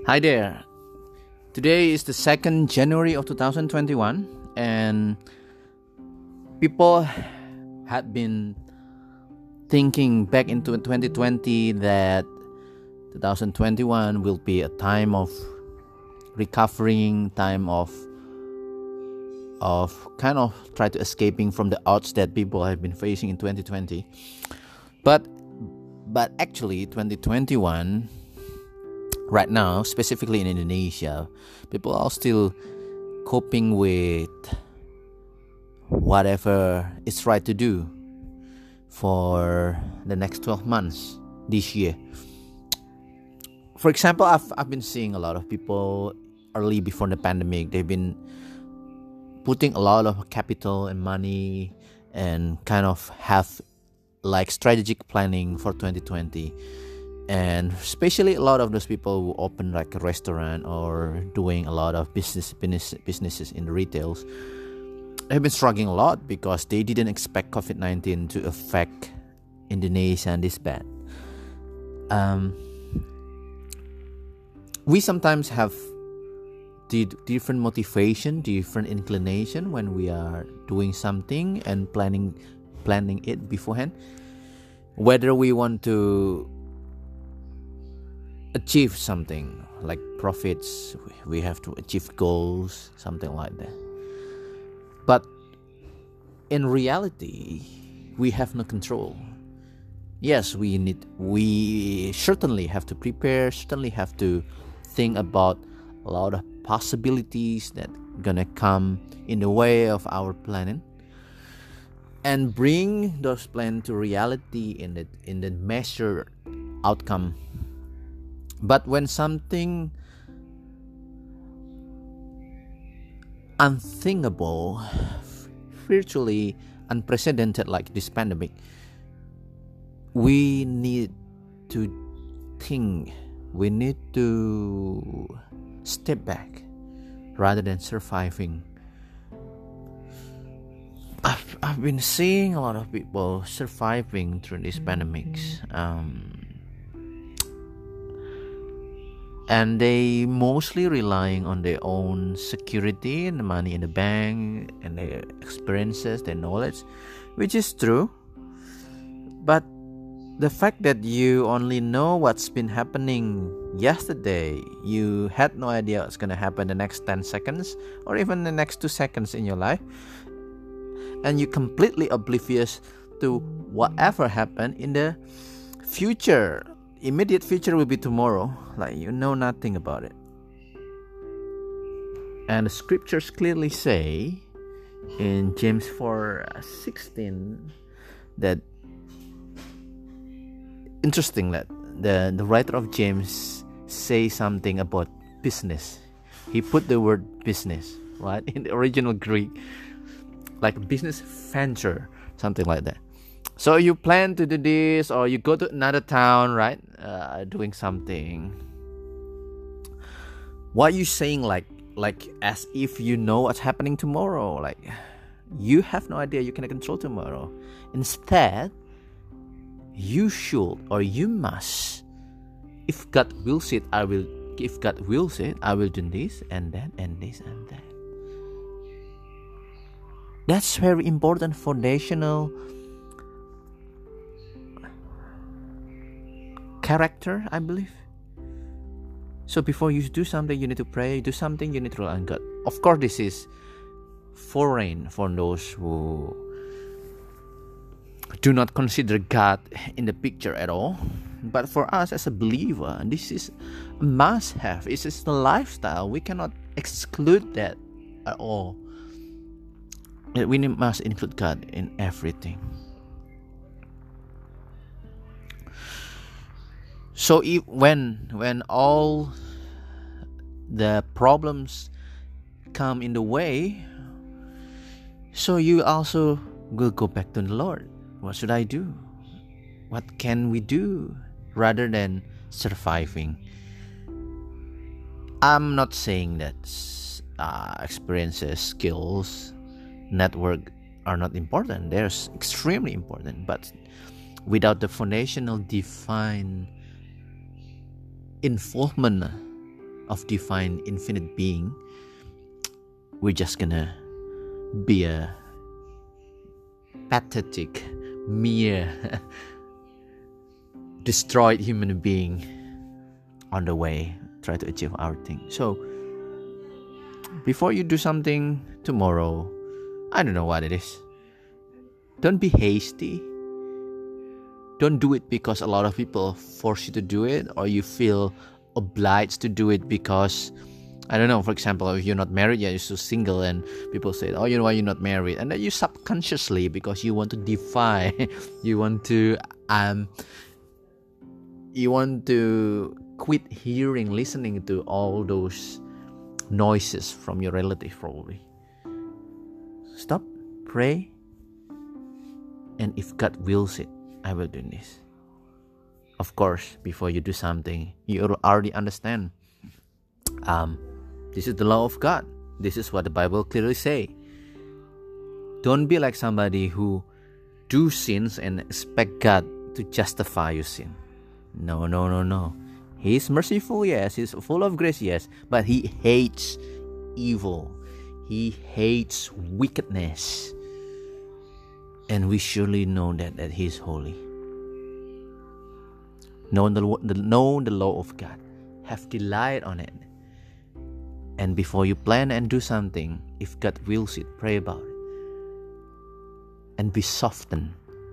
Hi there. Today is the 2nd January of 2021, and people had been thinking back into 2020 that 2021 will be a time of recovering, time of kind of try to escaping from the odds that people have been facing in 2020. But actually 2021 right now, specifically in Indonesia, people are still coping with whatever is right to do for the next 12 months this year. For example, I've been seeing a lot of people early before the pandemic. They've been putting a lot of capital and money and kind of have like strategic planning for 2020. And especially a lot of those people who open like a restaurant or doing a lot of businesses in the retails have been struggling a lot because they didn't expect COVID-19 to affect Indonesia this bad. We sometimes have the different motivation, different inclination when we are doing something and planning it beforehand. Whether we want to achieve something like profits, we have to achieve goals, something like that. But in reality, we have no control. Yes, we certainly have to prepare, certainly have to think about a lot of possibilities that gonna come in the way of our planning, and bring those plans to reality in the measured outcome. But when something unthinkable, virtually unprecedented like this pandemic, we need to think, we need to step back rather than surviving. I've been seeing a lot of people surviving through these pandemics. And they mostly relying on their own security and the money in the bank and their experiences, their knowledge, which is true. But the fact that you only know what's been happening yesterday, you had no idea what's going to happen the next 10 seconds or even the next 2 seconds in your life, and you're completely oblivious to whatever happened in the future. Immediate future will be tomorrow, like you know nothing about it. And the scriptures clearly say in James 4:16 that, interesting that the writer of James say something about business. He put the word business, right, in the original Greek, like business venture, something like that. So you plan to do this, or you go to another town, right? Doing something. What are you saying, like as if you know what's happening tomorrow? Like you have no idea. You cannot control tomorrow. Instead, you should or you must. If God wills it, I will. If God wills it, I will do this and that and this and that. That's very important foundational character, I believe. So before you do something, you need to pray. Do something, you need to rely on God. Of course, this is foreign for those who do not consider God in the picture at all. But for us as a believer, this is a must-have. This is the lifestyle. We cannot exclude that at all. We must include God in everything. So when all the problems come in the way, so you also will go back to the Lord. What should I do? What can we do rather than surviving? I'm not saying that experiences, skills, network are not important. They're extremely important. But without the foundational divine involvement of divine infinite being, we're just gonna be a pathetic, mere, destroyed human being on the way, try to achieve our thing. So, before you do something tomorrow, I don't know what it is, don't be hasty. Don't do it because a lot of people force you to do it, or you feel obliged to do it because, I don't know, for example, if you're not married yet, you're still single, and people say, oh, you know why you're not married? And then you subconsciously, because you want to defy, you want to quit listening to all those noises from your relative, probably. Stop, pray, and if God wills it, I will do this. Of course, before you do something, you already understand. This is the law of God. This is what the Bible clearly say. Don't be like somebody who do sins and expect God to justify your sin. No. He is merciful, yes. He's full of grace, yes. But He hates evil. He hates wickedness. And we surely know that He is holy. Know the law of God. Have delight on it. And before you plan and do something, if God wills it, pray about it. And be softened.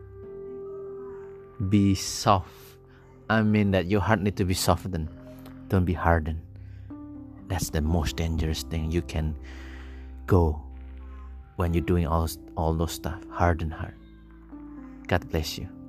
Be soft. I mean that your heart needs to be softened. Don't be hardened. That's the most dangerous thing you can go when you're doing all those stuff. Hardened heart. God bless you.